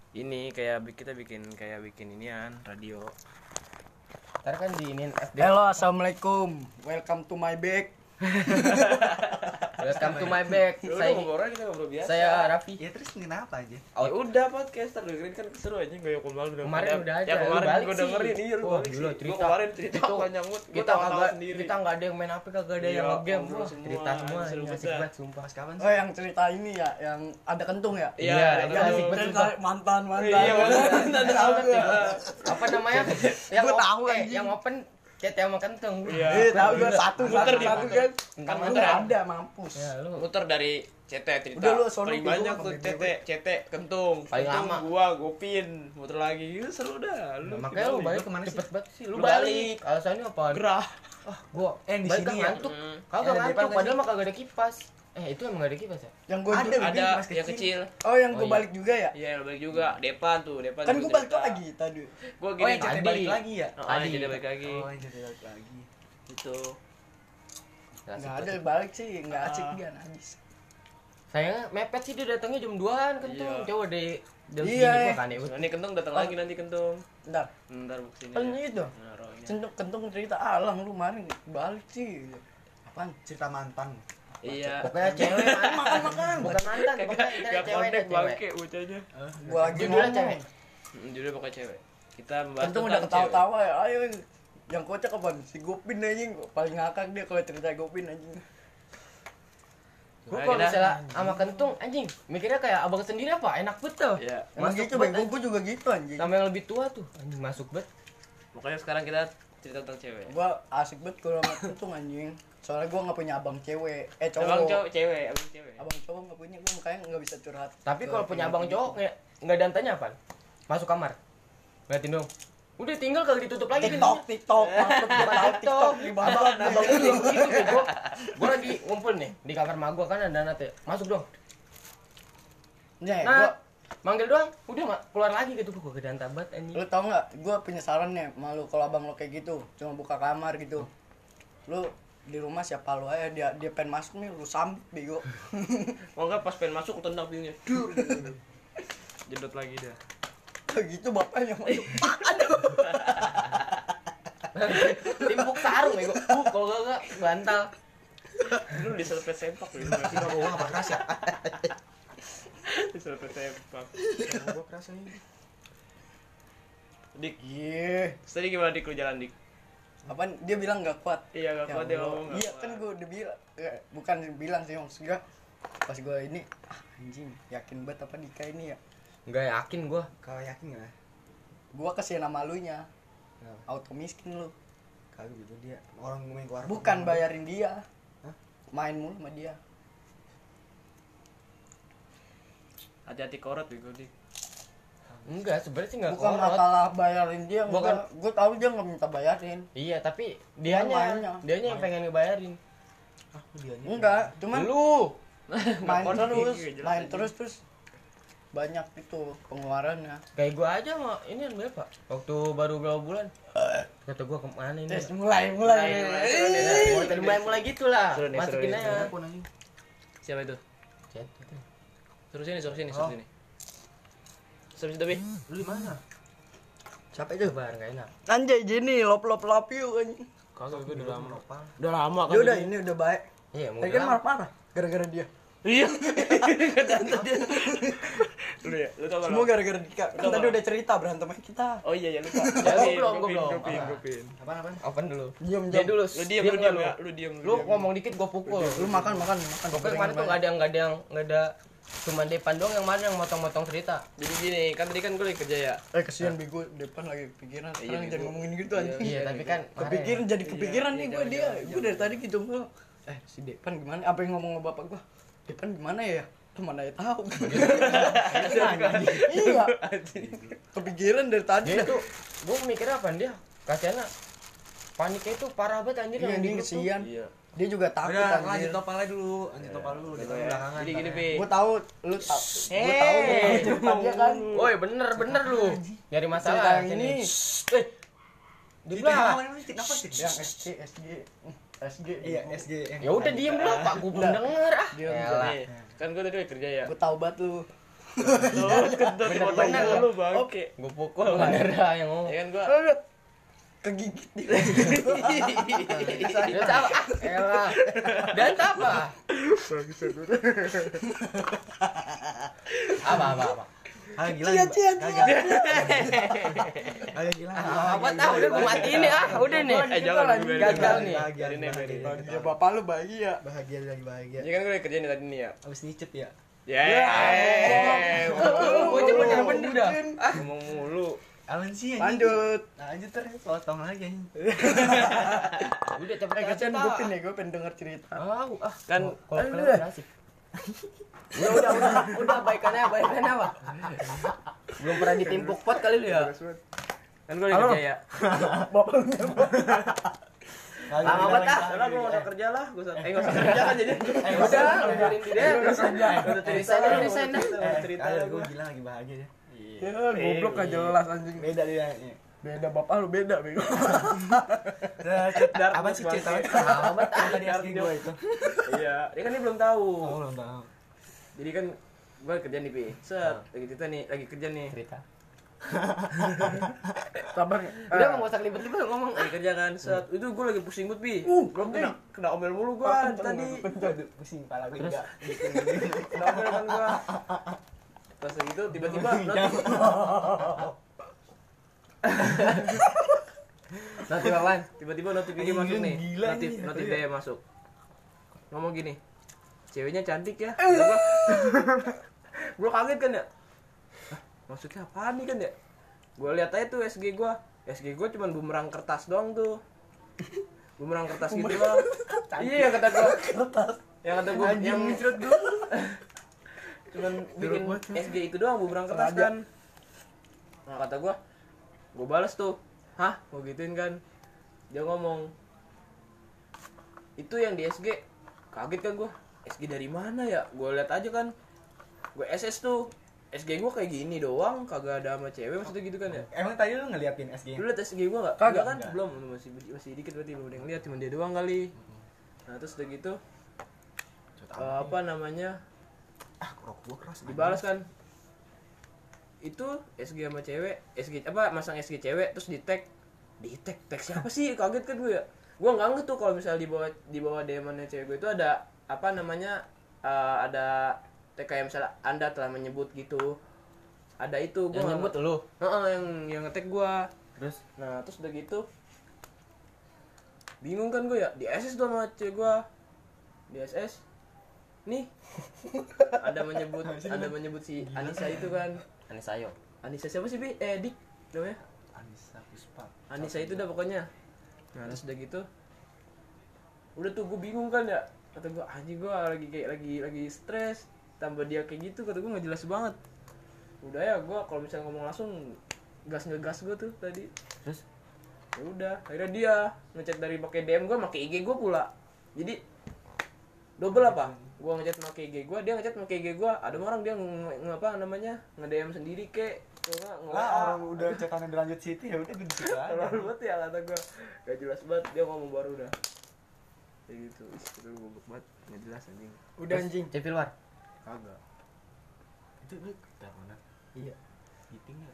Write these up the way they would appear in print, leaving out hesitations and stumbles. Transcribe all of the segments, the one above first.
ini kayak kita bikin inian radio. Ntar kan diinin Halo, assalamualaikum. Welcome to my bag. Welcome to my bag. Kita ngobrol biasa. Saya Raffi. Ya terus kenapa aja? Ya udah podcaster dengerin kan seru aja kayak Kemarin udah aja. Ya kemarin Lu balik gua sih. dengerin iya lu balik Dulu sih. cerita. Gua kemarin cerita Itu panjang banget. Kita enggak ada yang main HP, kagak ada yang Iya, nge-game. ngobrol Wah, semua. cerita semua Seru ini asik banget. banget sumpah. Pas kapan Oh, sih? yang cerita ini ya, yang ada kentung ya? Iya, itu ada asik lu. banget. Cerita mantan. Iya, mantan. Tahu gua. Apa namanya? Yang Gua tahu, open, anjing. yang open cete sama kenteng. Iya. Tahu gua satu Muter di kan. muter. Tentang Kan muter. ada mampus. Ya, lu Muter dari CT cerita. Udah lu sono paling dulu, banyak gua tuh ngambil CT kentung. Paling Kentung lama. gua Gopin muter lagi. Itu seru dah. Lu makanya lu balik kemana sih? cepet banget sih. Lu Lu balik. Alasannya apa? gerah. Gua di balik sini kan ya? ngantuk. Hmm. Kagak Ada ngantuk depan padahal mah kagak ada kipas. Itu emang gak ada kipas ya? Yang gua Ada. Ada Mas yang kecil. Oh, yang Oh, gua iya. balik juga ya? Iya, lu balik juga. Depan Kan juga gua balik cerita. lagi tadi. Gua Oh, gini. yang cerita Tadi. balik lagi ya? Tadi jadi balik lagi. Oh, yang cerita balik lagi. Itu. Enggak ada balik sih, enggak asik dia najis. Sayangnya mepet sih dia datangnya jam 2-an kentung. Iya. Coba deh jam Iya, segini iya. gua kan ya. Nanti kentung datang lagi nanti kentung. Bentar. Ntar buk sini. Kan itu. Naruhnya. Kentung cerita alang lu kemarin balik sih. Apaan? Cerita mantan. Iya. Pokoknya cewek man. Makan. Bukan mantan, pokoknya Gak cewek connect deh, cewek. bangke bocahnya. Gua lagi Judulnya ngomong. cewek. Judulnya pokoknya cewek. Kita membahas Kentung udah ketawa-tawa ya. Ayo yang kocak apaan? Si Gopin anjing paling ngakak dia kalau cerita Gopin anjing. Gua kalau misalnya sama kentung anjing, mikirnya kayak abang sendiri apa? Enak betul. Iya. Emang Masuk gitu banget, bego gua juga gitu anjing. Sama yang lebih tua tuh, anjing masuk bet. Makanya sekarang kita cerita tentang cewek. Gua asik banget kalau sama kentung anjing. Soalnya gua enggak punya abang cewek. Cowok. Abang cewek, abang cewek. Abang cowok enggak punya, gua makanya enggak bisa curhat. Tapi Ke kalau punya abang gitu. cowok nggak dantanya apa? Masuk kamar. Liatin dong. Udah tinggal kagak ditutup lagi pintunya. TikTok, maksud gua tahu TikTok di bawah. Abang gue juga begitu bego. Gua lagi ngumpul nih di kamar mak gua kan ada nate. Masuk dong. Nih, Nah, gua manggil doang, udah keluar lagi gitu gua kedantan banget anjing. lu tau nggak? Gua punya saran nih, malu kalau abang lu kayak gitu, cuma buka kamar gitu. Lu di rumah siapa lu aja dia pengen masuk nih lu sambit bego. Mau enggak pas pengen masuk tendang pintunya. Jedot lagi dah. Gitu bapaknya masuk. Timpuk sarung bego. Kalau enggak bantal. Lu diserpet sempak lu. Tiba gua apa keras ya? Diserpet sempak. Gua keras ini. Dik, Iya. tadi gimana Dik lu jalan Dik? Apaan? Dia bilang nggak kuat. Iya, enggak Ya kuat dia Allah. ngomong. nggak Iya kuat. kan gua udah bilang, bukan bilang sih maksudnya pas gua ini anjing yakin banget apa Dika ini ya. Enggak yakin gua. Kau yakin enggak? Gua kasihan sama lunya. Kenapa? Auto miskin lu. Kagak gitu dia. Orang main keluar. Bukan bayarin dia. Hah? Main mulu sama dia. Hati-hati korot bego Dik. Enggak, sebenarnya sih enggak Bukan korot. masalah bayarin dia, Bukan. gue tahu dia nggak minta bayarin. Iya, tapi Mainnya. dianya yang pengen ngebayarin. Ah, dianya. Enggak, cuman Lu main Korot terus, Dik, jelas main aja. terus banyak itu pengeluarannya. kayak gua aja mah ini berapa? Waktu baru berapa bulan? Kata gua kemana ini? Tes mulai. Mulai gitu lah. Seru nih, Masukin seru nih. aja. Aku nanya. Siapa itu? Chat. Suruh sini. Oh. Suruh sini, Bi. Lu di mana? Siapa itu? Bar enggak enak. Anjay Jenny, love you anjing. Kagak gue udah lama. Apa? Udah lama kan. Dia udah ini udah baik. Iya, Tadi mungkin kan marah-marah gara-gara dia. Iya. Lu ya, lu tau Semua gara-gara Dika. Kan tadi udah cerita berantem sama kita. Oh iya ya lupa. Gua belum. Gopin. Apaan? Open dulu. Diam. Dia dulu. Lu diam dulu. ya. Lu diam. Lu ngomong dikit gua pukul. Lu makan. Pokoknya kemarin tuh enggak ada cuma Depan doang yang mana yang motong-motong cerita. Jadi gini, kan tadi kan gue lagi kerja ya. Kesian bego depan lagi kepikiran. Iya, Sekarang bego. jangan ngomongin gitu anjing. Iya, tapi kan Kepikiran jadi kepikiran nih gue dia. jangan, Gue dari tadi gitu mulu. Si Depan gimana? Apa yang ngomong sama bapak gue? Depan gimana ya? Tuh mana ya tahu. Iya. Kepikiran dari tadi. dia tuh gua mikirnya apa dia? Kasihannya paniknya itu parah banget anjir Iya, yang dia di grup tuh. kesian. Iya. Dia juga takut Udah, lanjut anjir. topal aja dulu. Lanjut topal dulu. Di belakangan. Jadi gini, ntar ya. Bi. Gue tahu lu tahu. Gue tahu cerita dia kan. Woi, bener lu. Nyari Cerita masalah yang ini. Di Di belakang. belakang ini kenapa sih? Yang SG. Iya, SG. Ya udah diem dulu, Pak. Gua belum denger ah. Diam, Yalah. Nih, kan gue tadi lagi kerja ya. Gue tahu banget lu. Kentut potong dulu bangke. Gue pukul bener dah yang ngomong. Ya kan gua Kegigit dia. Dan apa? Elah. Dan apa? Apa? Ah gila. Cia. Agak gila. Apa tahu udah gue matiin nih udah nih. jangan Gagal nih. Biarin nih, biarin. Bahagia bapak lu bahagia. Bahagia lagi bahagia. Ini kan gue udah kerja nih tadi nih ya. Abis nyicip ya. Ya. Gue cuma bener dah. Ngomong mulu. Aman sih Lanjut. Lanjut terus potong lagi anjing. Udah cepet Kasian gue pin nih, gue pengen denger cerita. Kan Kalau kalian asik. Udah baikannya apa? Belum pernah ditimpuk pot kali lu ya. kan gue udah kerja ya. Bapak lu Lama banget ah. Udah gue udah kerja lah. Enggak usah kerja kan jadi. Udah, ngobrolin di dia. Udah cerita Resign dah. cerita Gue gila lagi bahagia ya. Ya goblok gak jelas anjing. Beda dia. Beda bapak lu beda bego. Apa sih cerita? Lama banget ah. Tadi asli gue itu. Iya, dia kan dia belum tahu. Oh, belum tahu. Jadi kan gue kerja nih, Pi. Set, lagi cerita nih, lagi kerja nih. Cerita. Sabar. Udah mau usah libet-libet ngomong. Lagi kerja kan, set. Itu gue lagi pusing banget, Pi. Gue kena omel mulu gue tadi. Pusing kepala gue Terus? juga. Kena omel kan gue. Terus gitu tiba-tiba Nanti Wawan. tiba-tiba notifikasi masuk nih. Gila Notif ini. notif dia masuk. Ngomong gini. Ceweknya cantik ya. Gue kaget kan ya. Hah, maksudnya apaan nih kan ya? Gue lihat aja tuh SG gue. SG gue cuman bumerang kertas doang tuh. Bumerang kertas gitu doang. Iya yang kata gue. Kertas. Yang kata gue yang cuman bikin SG itu doang bumerang kertas kan. Nah kata gue balas tuh. Hah? Mau gituin kan? Dia ngomong itu yang di SG. Kaget kan gue. SG dari mana ya? Gue lihat aja kan. Gue SS tuh. SG gue kayak gini doang, kagak ada sama cewek maksudnya gitu kan ya. Emang tadi lu ngeliatin SG? Lu liat SG gue enggak? Kagak. Kan? Belum, masih dikit berarti belum ada yang lihat, cuma dia doang kali. Nah, terus udah gitu apa namanya? Rokok gua keras. Dibalas kan. Itu SG sama cewek, SG apa masang SG cewek terus di tag siapa sih? Kaget kan gue ya. Gue enggak ngerti tuh kalau misalnya di bawah DM-nya cewek gue itu ada apa namanya? Ada kayak misalnya Anda telah menyebut gitu. Ada itu gua Yang nyebut lu. yang nge-tag gua. Terus Nah, terus udah gitu bingung kan gue ya, di SS tuh sama cewek gua. Di SS nih ada menyebut si Anissa itu kan. Anissa yo. Anissa siapa sih, Bi? Dik namanya. Anissa Puspa. Anissa itu udah pokoknya. Nah, terus udah gitu udah tuh gue bingung kan ya. Kata gue anjing gue lagi stres. Tambah dia kayak gitu, kata gue nggak jelas banget. Udah ya, gue kalau misalnya ngomong langsung ngegas gue tuh tadi. Terus Ya udah, akhirnya dia ngechat dari pakai DM gue, pakai IG gue pula. Jadi double apa? Gue ngechat pakai IG gue, dia ngechat pakai IG gue. Ada orang dia ngapa namanya nge-DM sendiri kek. Lah orang udah cetannya berlanjut City ya udah gue di situ aja. Terlalu banget ya kata gue, gak jelas banget. Dia ngomong baru udah kayak gitu. Itu goblok banget, gak jelas anjing. Udah anjing. Cevil war. Kagak. Itu lu teleponan. Iya. Meeting ya.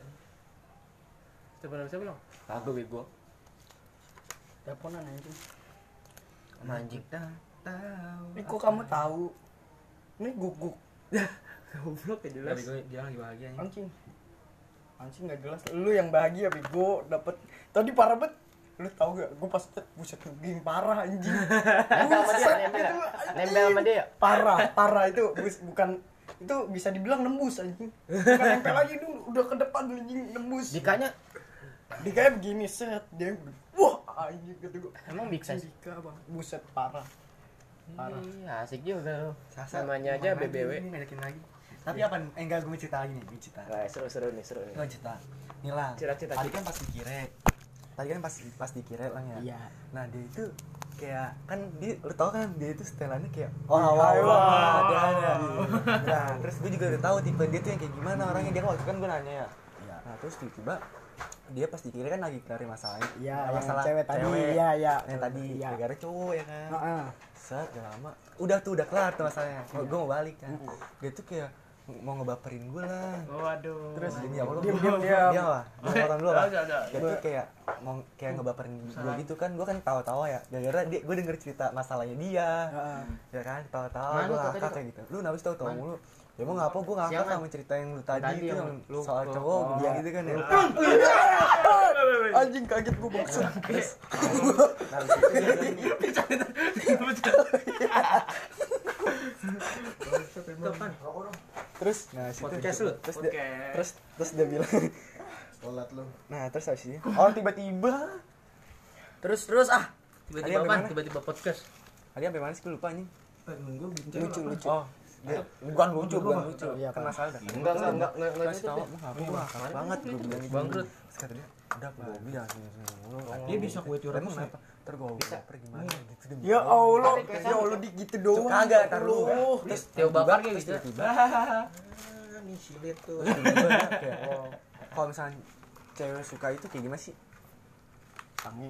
Siapa bilang? Kagak bego. Teleponan anjing. Sama anjing. Tahu. Ini kok kamu tahu? Ini guguk. Goblok gak jelas. Tadi gue dia lagi bahagia nih. Anjing. Anjing gak jelas. Lu yang bahagia bego dapet. Tadi parah banget. Lu tau gak? Gue pas chat buset geng parah anjing. Nempel sama dia, nempel sama dia. Parah itu bukan itu bisa dibilang nembus anjing. Bukan nempel lagi dulu, udah ke depan anjing nembus. Dikanya Dikanya begini set dia. Wah, anjing kata gue. emang big size. Dika bang, buset parah. Parah. Iya, asik juga lu. Sasa, Namanya aja main lagi, BBW. ini ngajakin lagi. Tapi apa? Enggak, gue mau cerita lagi nih, gue cerita. Nah, seru nih. Gue mau cerita. Nih lah. Cerita. Tadi kan pas dikirek. Pas dikirek lah ya. Iya. Nah, dia itu kayak kan dia lu tau kan dia itu setelannya kayak Wah. dia ada. Nah, terus gue juga udah tahu tipe dia tuh yang kayak gimana orangnya. Dia kan waktu kan gue nanya ya. Iya. Nah, terus tiba-tiba dia pas dikirek kan lagi cari masalahnya. Iya, yang masalah cewek tadi. Iya. Yang tadi Iya. gara-gara cowok ya kan. Heeh. Set, gak lama udah kelar tuh masalahnya. Gue mau balik kan. Dia tuh kayak mau ngebaperin gue lah. Waduh. Terus demi Allah Diam. dia lah orang dulu lah. Ada. Dia tuh kayak mau kayak ngebaperin gue gitu kan, gue kan tawa-tawa ya gara-gara gue denger cerita masalahnya dia. Ya kan tawa-tawa gue ngakak kayak gitu. Lu nabis tahu mulu. Ya emang ngapa gue ngakak sama cerita yang lu tadi itu yang soal cowok gue bilang gitu kan ya. Anjing kaget gue maksud. Terus nah situ terus dia bilang Sholat lu. nah terus habis itu oh tiba-tiba terus Tiba-tiba Ada yang apa? Tiba-tiba podcast. tadi sampai mana sih gue lupa anjing. Nunggu bincang. lucu. Oh dia bukan lucu Iya, kan masalah dah. Enggak Kasih tahu gue ngakak banget gue bilang gitu. Bangkrut. Terus kata dia udah gue bilang mulu. Dia bisa kue curhat Emang tuh kenapa? Ntar gue baper gimana gitu demi Ya Allah di gitu doang. kagak tar lu. Terus Teo bakar kayak gitu. tiba-tiba Nih silit tuh. kayak kalau misalnya cewek suka itu kayak gimana sih? Sange.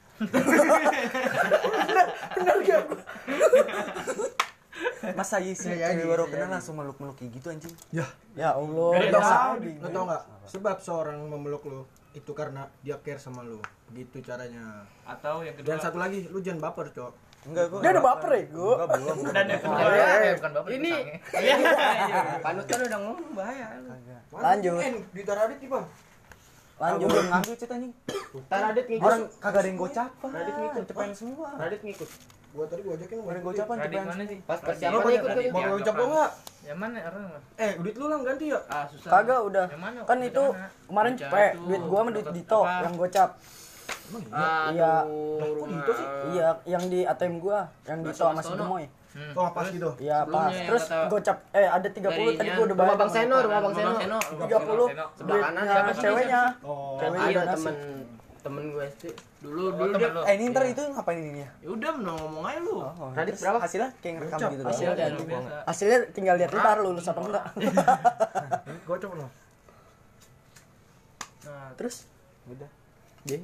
Masa iya sih cewek baru kenal langsung meluk-meluk kayak gitu anjing? Ya. Ya Allah. Lu tau Dasar nggak? bingung. Lu tau nggak? Sebab seorang memeluk lu itu karena dia care sama lu. Begitu caranya. Atau yang kedua. Dan satu lagi, lu jangan baper, Cok. Enggak gua. Dia udah baper ya, gua. Enggak belum. Dan yang kedua. Bukan bapak. Ini Iya. panutan udah ngomong bahaya. Kagak. Lanjut. Di Taradit nih, Bang. Lanjut belum ngambil cerita anjing. Taradit ngikut. Orang kagak ada yang gocapan. Radit ngikut. Cepen semua. Radit ngikut. Gua tadi gua ajakin Ada yang gocapan Radit cepen. mana sih? Pas Lu persiapan pada ikut Radit. kan. mau ucap lo enggak? Yang mana orang? Duit lu lah ganti ya. Ah, susah. Kagak udah. Yang mana? Kan Yang itu mana? kemarin Gocap cepet itu. duit gua sama duit Dito Apa? yang gocap. Iya. Aduh, Gitu sih. Iya, yang di ATM gua, yang Dito sama si Bastono. Gemoy. Oh, pas gitu. Iya, Sebelumnya pas. yang Terus kata- gocap ada 30 tadi gua udah bayar. Rumah Bang sama Seno, Dito. rumah Bang Seno. 30 Sebelah kanan duitnya siapa sih? ceweknya. Oh. Ceweknya Ada donasi. temen gue SD. Dulu dia. Ini ntar itu ngapain ini ya? Ya udah ngomong aja lu. Radit Terus berapa? hasilnya kayak ngerekam Gocap. gitu. Hasilnya doang. kayak Luar biasa. Hasilnya tinggal lihat ntar lulus apa enggak. Gocap lo. Nah, Terus Udah. dia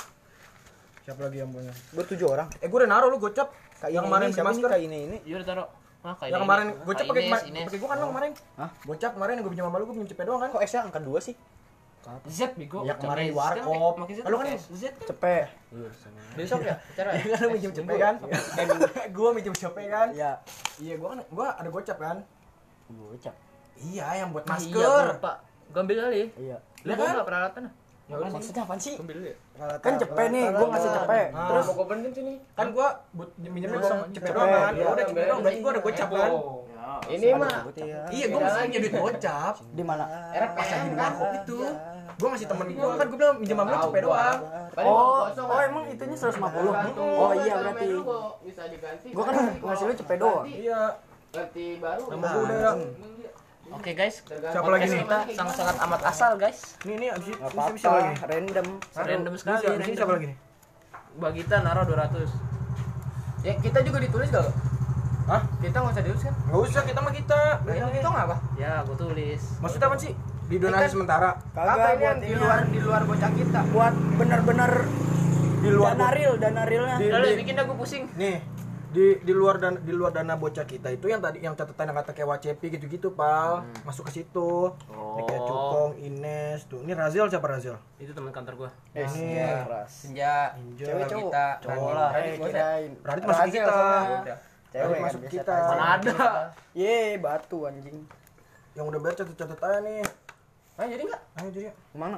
Siapa lagi yang punya? gua 7 orang. Gua udah naruh lu gocap. Yang kemarin beli siapa sih masker. kayak ini? iya udah taruh. Ah, kayak Yang ini. kemarin gocap Kak pakai Ines. pakai gua kan lo kemarin. Hah? Gocap kemarin yang gua pinjam sama lu gua pinjam cepet doang kan? Kok S-nya angka 2 sih? Z bego. Ya, kemarin di Z kan warkop. pakai Z Lu kan Z kan. Cepet. Besok ya? Acara ya? Kan lu minjem cepet kan? Gua minjem cepet kan? Iya. Iya, gua ada gocap kan? Gocap. Iya, yang buat Iya, masker. gua lupa. Gua ambil kali. Iya. Lu bawa enggak peralatan? Ya udah sini. Maksudnya apaan sih? Ambil dulu ya. Kan cepet nih, gua ngasih cepet. Ah. Terus Mau bener sini. Kan gua minjemnya sama cepet Cepet. doang kan? Iya, Ya udah cepet doang, berarti gua ada gocap kan? Ini mah Iya, gua masih punya duit gocap. di mana? Pas lagi di warkop itu. Gua ngasih temen gua kan gua bilang minjem sama lu cepet doang. Oh, emang itunya 150. Oh iya berarti. bisa diganti. Gua kan ngasih lu cepet doang. Iya. ganti baru. Nama gua udah ya. Oke guys, Siapa lagi nih? kita sangat-sangat amat asal guys. Nih abis Enggak ini siapa lagi nih? apa-apa, random. Random sekali. Abis ini siapa lagi nih? Bagita naruh 200. Ya kita juga ditulis gak? Hah? Kita nggak usah ditulis kan? Nggak usah, kita mah kita. Itu nggak apa? Ya, gua tulis. Maksudnya apa sih? Di donasi sementara. Kagak Apa ini buat yang ini di luar bocah kita? buat bener-bener Di luar dana realnya. Udah lu bikin dah gua pusing. nih di luar dana bocah kita itu yang tadi yang catatan yang kata kayak Wacepi gitu-gitu pal masuk ke situ. Ini kayak Cukong, Ines tuh. Ini Razil siapa Razil? Itu teman kantor gua. Ini Senja. Cewek cowok. Kita. Cowok lah. Kirain. Radit masuk ke kita. Cewek Radit kan masuk biasa kita. aja. Mana ada? Ye, batu anjing. Yang udah baca catat aja nih. Ah jadi nggak? Ayo jadi. Kemana?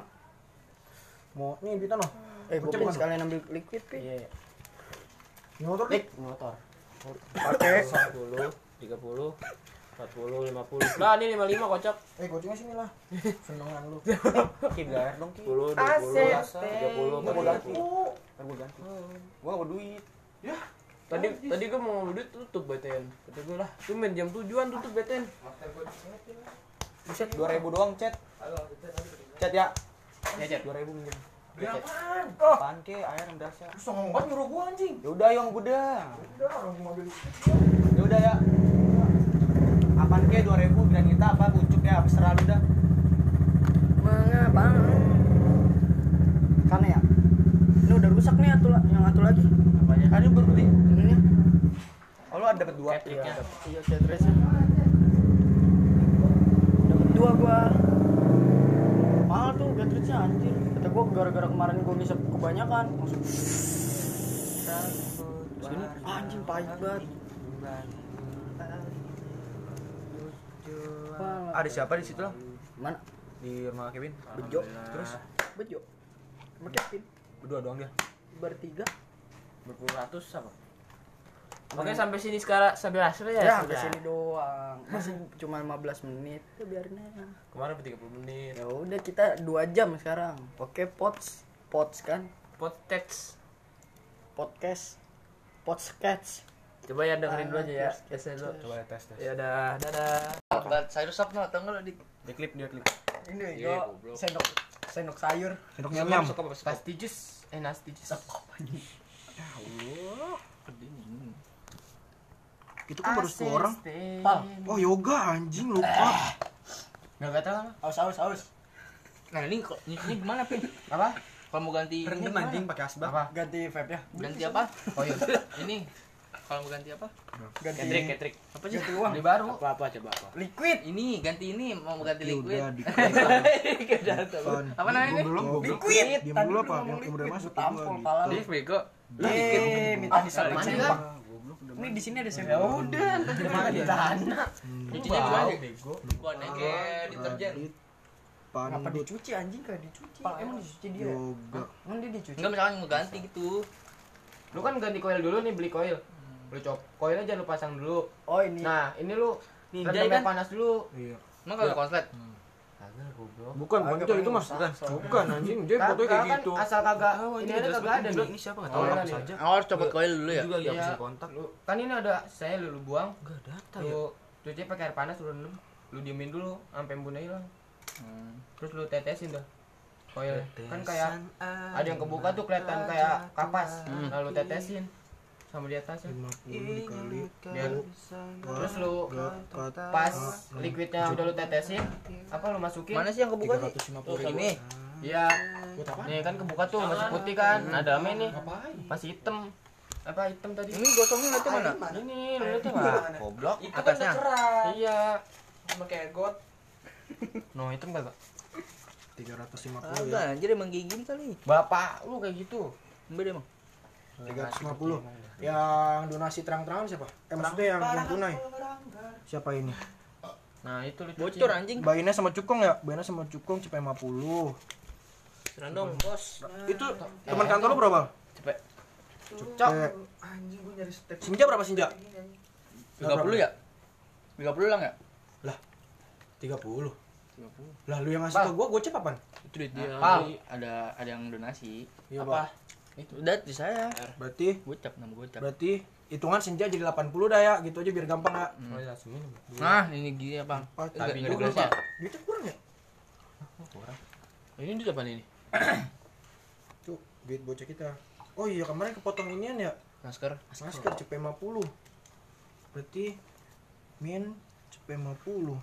Mau nih duitan loh. Gua Gocap pengen mana? sekalian ambil liquid, Pi. Iya. Ini motor nih. Motor. Pakai 10, 30, 40, 50. Lah, ini 55 kocak. Gocengnya sini lah. Senengan lu. Ki bayar dong Ki. 10, 20, 30, Ntar gua ganti. 40. Ntar gua ganti. Gua enggak mau duit. Tadi gua mau duit tutup BTN. Kata gua lah, tuh main jam 7-an tutup BTN. Buset 2000 doang, Chat. Chat ya. Ya, Chat. 2000 minjem. Apaan? Apaan ke air yang dasar. Lu songong banget nyuruh gua anjing. Ya udah yang udah. Udah orang gua mobil. Ya udah ya. Apaan ke 2000 granita apa bucuk ya habis terlalu dah. mengapa? Karena ya. Ini udah rusak nih yang atu lagi. Apanya? Kan ini baru beli. Ininya. Oh lu ada dapat 2. Catriknya. Iya, catriknya. kedua gua. Mahal tuh cartridge-nya anjir. Kata gua gara-gara kemarin gua ngisep kebanyakan. Maksud sini anjing pahit banget. Ada siapa di situ lah? Mana? Di rumah Kevin. Bejo. Terus Bejo. Sama Kevin. Berdua doang dia. Bertiga. Berpuluh ratus apa? Oke, sampai sini sekarang sampai hasil ya. Ya, sampai sudah. sini doang. Masih cuma 15 menit. Ya biarin aja. Kemarin 30 menit. Ya udah kita 2 jam sekarang. Oke, pots kan? Podcast. Podcast. Coba ya dengerin dulu aja ya. Tes dulu. Coba tes. Ya udah, dadah. Sayur sop no, tau nggak lo Dia klip. ini Iya, gua goblok. sendok sayur. Sendok nyam-nyam. Nasty juice. Nasty juice. Itu kan baru 10 orang. Pal. Oh, yoga anjing lupa. Enggak tahu lah. Aus. Nah ini gimana Pin? Apa? Kalau mau ganti ini Rendem gimana? anjing pakai asbak. Apa? Ganti vape ya. Ganti apa? Oh iya. Ini kalau mau ganti apa? Ganti Ketrik. Apa sih? ganti uang. Beli baru. Apa coba apa? Liquid. Ini ganti ini mau ganti Ya liquid. udah di Apa namanya ini? belum goblok. Liquid. Diam Tadi dulu lu apa? ngomong Yang udah liquid, masuk gua tampol gua pala lu. Dia bego. Minta disambung Mandi sempak. kan? Ini di sini ada Ya sempak. udah, ntar gimana di tanah. Cucinya gimana? Gua nege deterjen. Kenapa Pandut dicuci anjing kayak dicuci? Emang dicuci dia? yoga. Emang dia dicuci? Enggak misalkan mau ganti gitu. Lu kan ganti koil dulu nih, beli koil. Beli koilnya jangan lu pasang dulu. Oh ini. Nah, ini lu Nih, rendamnya kan? panas dulu. Iya. Emang kagak konslet? Kagak goblok. Bukan, Agak Bonjo itu paling mas. usah, soalnya. Bukan anjing, dia fotonya kayak Kan gitu. asal kagak ini ada kagak ada nih. Ini siapa enggak Oh, tahu iya apa nih. saja. Oh, harus copot koil dulu ya? Juga Iya. enggak bisa kontak. Lu kan ini ada saya lu buang. Enggak data ya. Lu cuci pakai air panas lu rendam. Lu diemin dulu sampai embunnya hilang. Terus lu tetesin dah. Koil kan kayak ada yang kebuka tuh kelihatan kayak kapas. Lalu tetesin sama di atasnya. 50 dikali Biar terus lu kata pas liquidnya udah lu tetesin, apa lu masukin? Mana sih yang kebuka sih? 350 Ini. Iya. Nih kan kebuka tuh masih putih kan. Ada ame nih. Masih hitam. Apa hitam tadi? Ini gosongnya nanti mana? Ini lu lihat enggak? Goblok. Itu kan Atasnya. cerah. Iya. Sama kayak got. No, hitam kagak? 350 Agak ya. anjir emang kayak gini kali. Bapak lu kayak gitu. Beda emang. 350. Yang donasi terang-terangan siapa? Maksudnya yang tunai. Siapa ini? Nah, itu lu cuci. Bocor anjing. Bayinya sama Cukong ya? Bayinya sama Cukong cepet 50. Serandong, bos. Itu teman kantor lu berapa? Cepet. Cok. Anjing gua nyari step. Sinja berapa Sinja? 30 ya? 30 lang ya? 30. Lah lu yang ngasih ke gua gocap apaan? Itu duit dia. Pal. Ada yang donasi. Iya, Apa? Itu udah di saya. Berarti Gocap nama gocap. berarti hitungan Sinja jadi 80 dah ya, gitu aja biar gampang ya. Oh, iya, langsungin. Nah, ini gini apa? Tapi Enggak juga ada Duitnya kurang ya? Ini duit apa ini? Tuh, duit bocah kita. Oh iya, kemarin kepotong inian ya. Masker. Masker cepet 50. Berarti min cepet 50.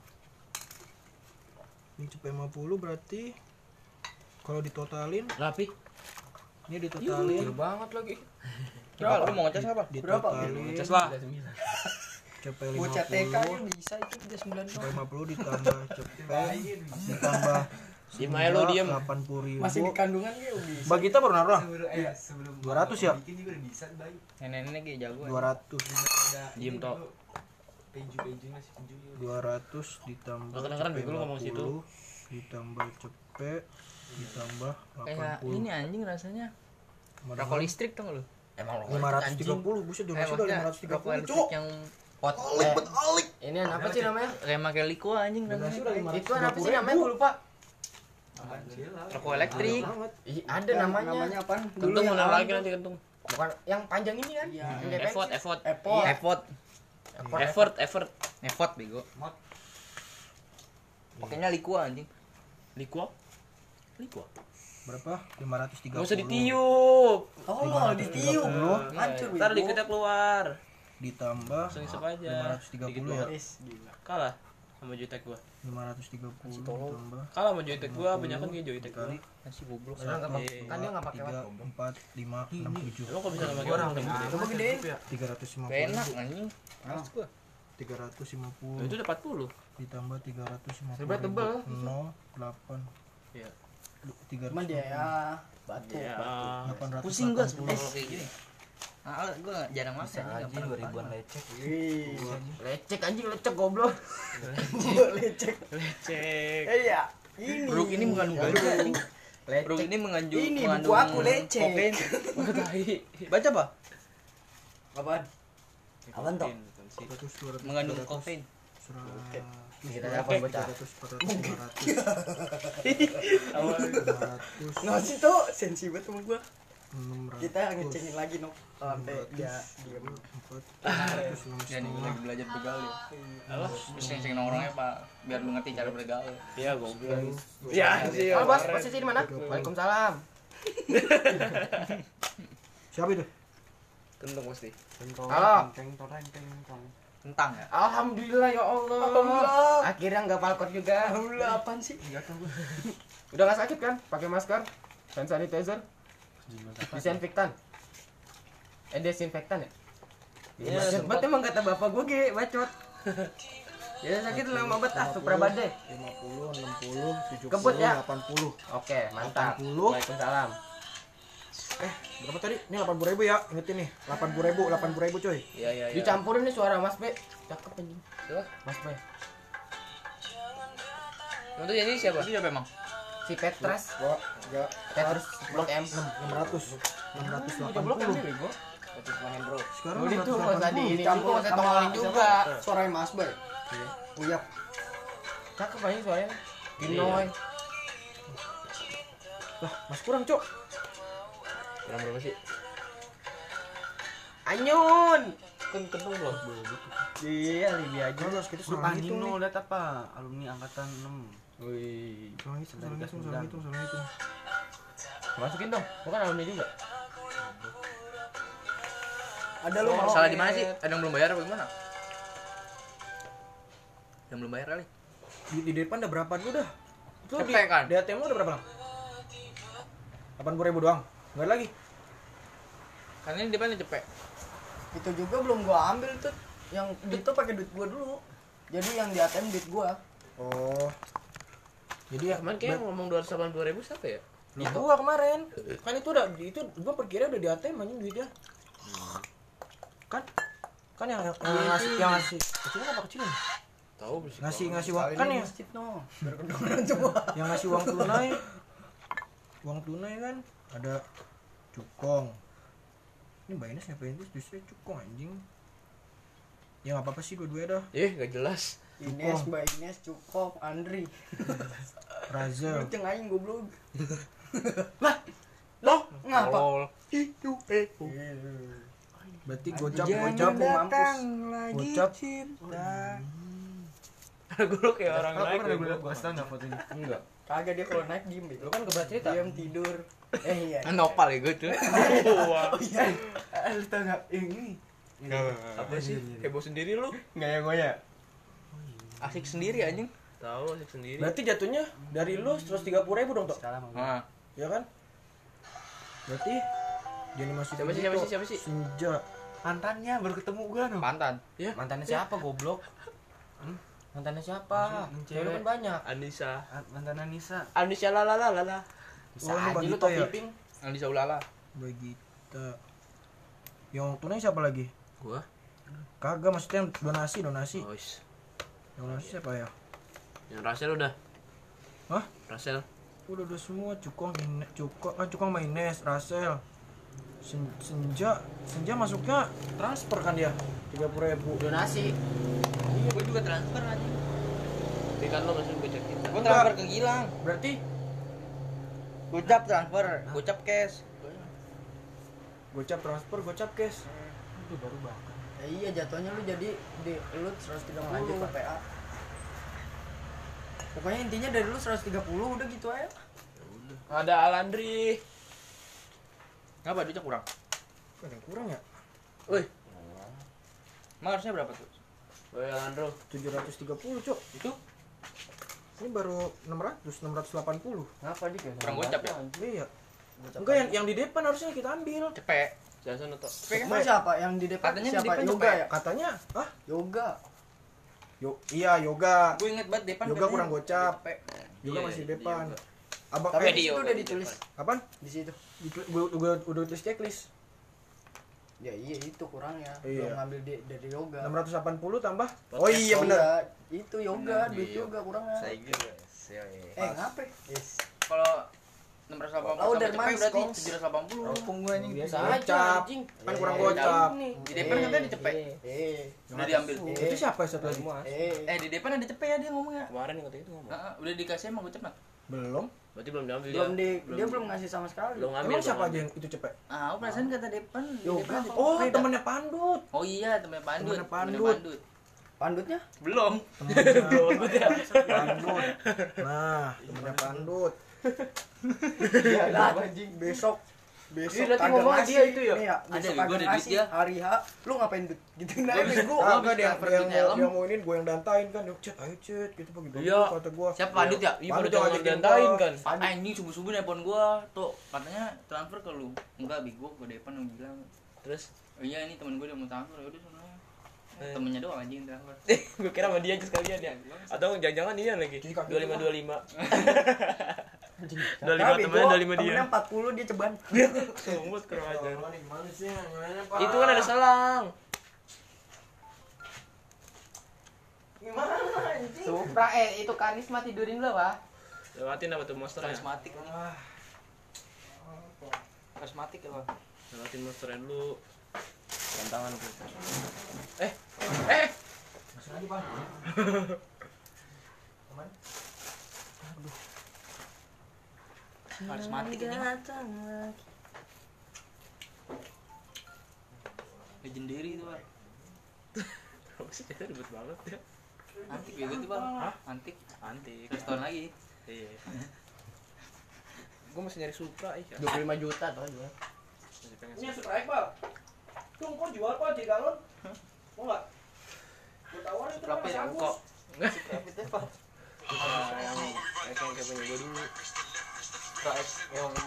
Min cepet 50 berarti kalau ditotalin Rapi. ini ditotalin Gede banget lagi. Berapa? Lu mau ngecas apa? ditotalin Cas lah. cepet Bocah TK 50 nya bisa itu udah 9 cepet 50 ditambah cepet ditambah Diem aja lu, diem. 80.000. Masih di kandungan ya bisa. Bagi kita baru naruh lah. Sebelum 200 ya? bikin juga udah bisa bayi. Nenek-nenek kayak jago. 200 Diem tok. Peju masih peju. 200 ditambah Gak kedengeran, cepet Bego, lu ngomong situ. 50, ditambah cepet ditambah Kayak 80 ini anjing rasanya. Kemana-mana. Rokok listrik tau gak lu? Emang lo 530 buset donasi udah maksudnya rokok 530 listrik cuk yang pot. Ini apa sih namanya? kayak pakai liko anjing donasi namanya. udah Itu apa sih namanya? Gue lupa. Rokok elektrik. banget. Ih, ada namanya. Namanya apaan? Kentung yang mana awal lagi tuh. nanti kentung. Bukan yang panjang ini kan? Iya. Yang kayak Effort, pensil. effort. Epot. Effort bego. Pakainya liko anjing. Liquo? Liquo? Berapa? 530. Gak usah ditiup. Oh, ditiup. Hancur Ntar Bego. dikitnya keluar. Ditambah Langsung isep aja. 530 ya. Is, gila. Kalah sama joytek gua. 530 ditambah Kalah sama joytek gua, banyak kan kayak joytek gua. kali Masih goblok. Kan nggak pakai- Iya. kan dia nggak pakai 3 watt. 4 5 6 7 Emang kok bisa sama kayak orang gede? Coba gedein. 350. Enak anjing. Males gua. 350 Itu udah 40. ditambah 350. Sebenarnya tebel. 08 Iya. 300. Cuman dia ya batu. Ya. 880. Pusing gua kayak gini. Gua jarang makan. Bisa aja 2000-an lecek. Wih. Lecek anjing, lecek goblok. Lecek. Lecek. Iya. Ini. Bro, ini mengandung ganja anjing. Bro, Lecek. ini mengandung Ini mengandung buku aku lecek. kokain. Baca apa? Apaan? Apaan toh? 100 200 Mengandung kokain. 100 Kita apa bocah? 400 500 Ngasih tuh sensi banget sama gua. 600 Kita ngecengin lagi no sampai dia diem. 400 Ya nih lagi belajar bergaul ya. Terus sering nongkrongnya Pak, biar lu ngerti cara bergaul. Iya, goblok. Ya sih. Halo bos, posisi di mana? Waalaikumsalam. Siapa itu? Kentung pasti. Halo. Tentang ya. Alhamdulillah ya Allah. Alhamdulillah. Akhirnya nggak palkot juga. Alhamdulillah apaan sih? Udah nggak sakit kan? Pakai masker, hand sanitizer, disinfektan. Desinfektan ya? Iya, bacot emang kata bapak gue ge, bacot. Ya sakit lama banget ah, supra badai. 50 60 70 Kebut ya? 80. Oke, mantap. 80. Waalaikumsalam. Berapa tadi? Ini 80.000 ya. Ingetin nih. 80.000 coy. Iya, iya, iya. Dicampurin nih suara Mas B. Cakep anjing. Siapa? Mas B. Untuk ini siapa? Itu siapa emang? Si Petras. Gua enggak Petrus Blok M. 600 Blok M 680. bego. Petrus Mahendro. Sekarang Udah tuh nggak usah di ini, Campur nggak usah tongolin juga. Suara Mas Bay. Uyap. Cakep anjing suaranya. Ginoy. Lah, Mas kurang, Cok. Kurang berapa sih? Anyun. Kentung belum? Iya, Libya aja. Terus kita Lu salah hitung Panino nih. lihat apa? Alumni angkatan 6. Wih. Salah hitung. Masukin dong. Bukan alumni juga. Ada lu mau? Salah di mana sih? Ada yang belum bayar apa gimana? Yang belum bayar kali. Di depan udah berapa dulu dah? Itu Cepet kan? Di ATM lu udah berapa? 80.000 doang. Enggak ada lagi. Karena ini depannya cepet. Itu juga belum gua ambil tuh. Yang itu pakai duit gua dulu. Jadi yang di ATM duit gua. Oh. Jadi ya Kemarin kayak ngomong 282.000 siapa ya? itu gua kemarin. Kan itu gua perkira udah di ATM anjing duitnya. Kan yang ngasih kecilnya apa kecilnya? Tahu sih. Ngasih uang kan ya. Masjid no. Biar kedengeran semua. Yang ngasih uang tunai. Uang tunai kan ada Cukong. Ini Mbak Ines ngapain tuh justru Cukong anjing. Ya enggak apa-apa sih dua-duanya dah. Gak jelas. Ines, Mbak Ines, Cukop, Andri. Razel. Lu ceng aing goblok. Loh, Ngapa? Lol. Berarti gocap. Gocap. Gue kayak orang lain. Gua stand foto ini. Enggak. Kagak dia kalau naik diem Lu kan keberat cerita. Diam tidur. Iya. Nopal ya gue tuh. Lu tau enggak ini? Apa sih? Heboh sendiri lu? Enggak ya gue ya. Asik sendiri anjing. Tahu asik sendiri. Berarti jatuhnya dari lu 130.000 dong, Tok. Nah, Ya kan? Berarti jadi masih Siapa sih? Senja. Mantannya baru ketemu gua no. pantan. Mantannya siapa goblok? Mantannya siapa? Cewek lu kan banyak. Anissa. Mantan Anissa. Anissa lalala. Bisa Oh, lu aja lu Bagita top ya? piping. Alisa Ulala. Bagita. Yang tunai siapa lagi? Gua. Kagak, maksudnya yang donasi. Oh, is. Yang donasi siapa ya? Yang Rasel udah. Hah? Rasel. Udah semua Cukong sama Ines, Rasel. Senja masuknya transfer kan dia 30.000. Donasi. Iya, gue juga transfer anjing. Tapi kan lo masih gue cek kita. Gue transfer ke Gilang. Berarti Gocap transfer, gocap cash. gocap transfer, gocap cash. Itu baru banget. Ya iya jatuhnya lu jadi di lu 130 lanjut ke PA. Pokoknya intinya dari lu 130 udah gitu aja. Ada Alandri. Ngapa duitnya kurang? Ada yang kurang ya? Woi, Emang harusnya berapa tuh? Alandro. 730, Cok. Itu Ini baru 680. Ngapa dik ya? kurang gocap ya? Iya. Enggak, yang di depan harusnya kita ambil. Cepet. Jangan atau Cepet kan? Emang siapa yang di depan? Katanya di siapa? depan Yoga cepet. ya? Katanya, Yoga. Iya, yoga. Gue inget banget depan Yoga kurang gocap. Yoga Iya, masih iya, depan. yoga. Abang Tapi di di situ yoga udah di ditulis kapan? di situ. Gue udah tulis checklist. Ya iya itu kurangnya. Iya. Belum ngambil dari yoga. 680 tambah. Oh iya benar. Itu yoga, duit yoga kurangnya. Saya gitu. Ngapa? Yes. Kalau 680 Oh, sampai dari cepet Mas, berarti Kongs. 780. Opung gue anjing. Biasa Gocap. aja anjing. Kan kurang gocap. Di depan katanya dicepet. Udah diambil. Itu siapa satu lagi? Semua. Di depan ada cepet ya dia ngomongnya. Kemarin yang katanya itu ngomong. Udah dikasih emang gocap nak. Belum. Berarti belum diambil Dia belum ngasih sama sekali. Belum ngambil. Emang siapa aja yang itu cepet? Aku perasaan kata depan. di Yoga. depan ada Oh, cepet. temennya Pandut. Oh iya, temennya Pandut. Temennya Pandut. Pandut. Pandutnya? Belum. Pandut. Nah, temennya Pandut. Iya lah anjing. Besok Iya, nanti nanti ngomong ngomongnya dia dia itu ya. Nih ya, Ada, besok gua kagak ada duit ngasih dia. hari H, lu ngapain dut? Gitu nah bego. Ah, enggak dia transfer yang duit helm. dia mau ini gue yang dantain kan. Yuk, Cet, ayo Cet, gitu begitu. Iya. Kata gua. Siapa Pandut ya? Iya, Pandut baru yang jangan ngajakin diantain gua. kan. Anjing subuh-subuh nelpon gua. Tuh, katanya transfer ke lu. Enggak, bego, gua depan yang bilang. Terus Oh iya, ini temen gua udah mau transfer. Ya udah sana. Temennya doang anjing transfer. gue kira sama dia aja sekalian ya. Atau jangan-jangan dia lagi. 2525. 25 temennya 25 dia. Temennya 40 dia ceban. Sumut kurang aja. Gimana sih? Gimana, Pak? Itu kan ada selang. Gimana anjing? Supra itu karisma tidurin lo, Pak. Lewatin apa tuh monster ya? Karismatik nih. Karismatik ya, Pak. Lewatin monster dulu. Tantangan tuh. Masih lagi, Pak. Aman? Karismatik ini. Legendary itu, Pak. Apa sih kita ribet banget ya? Antik bego tuh, Bang. Antik. Antik. Terus tahun lagi. Iya. Gue masih nyari Supra 25 juta tuh jual. Masih pengen Ini Sprite, Pak. Tuh, kok jual, Pak, 3 galon? Mau enggak? Gua tawarin itu Sprite Mas yang Agus. kok. Supra yang kayak punya gue dulu. Yang